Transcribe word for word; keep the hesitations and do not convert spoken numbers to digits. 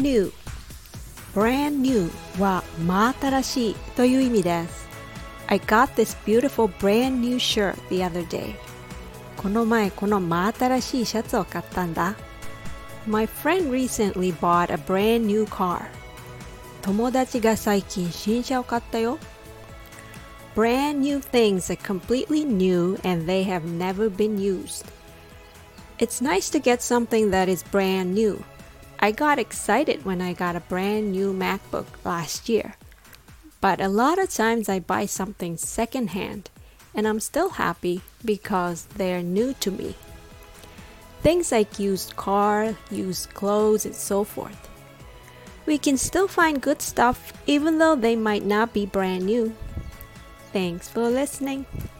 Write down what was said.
new brand new は真新しいという意味です。I got this beautiful brand new shirt the other day. この前この真新しいシャツを買ったんだ。My friend recently bought a brand new car. 友達が最近新車を買ったよ。Brand new things are completely new and they have never been used. It's nice to get something that is brand new. I got excited when I got a brand new MacBook last year. But a lot of times I buy something secondhand and I'm still happy because they're new to me. Things like used car, used clothes, and so forth. We can still find good stuff even though they might not be brand new. Thanks for listening.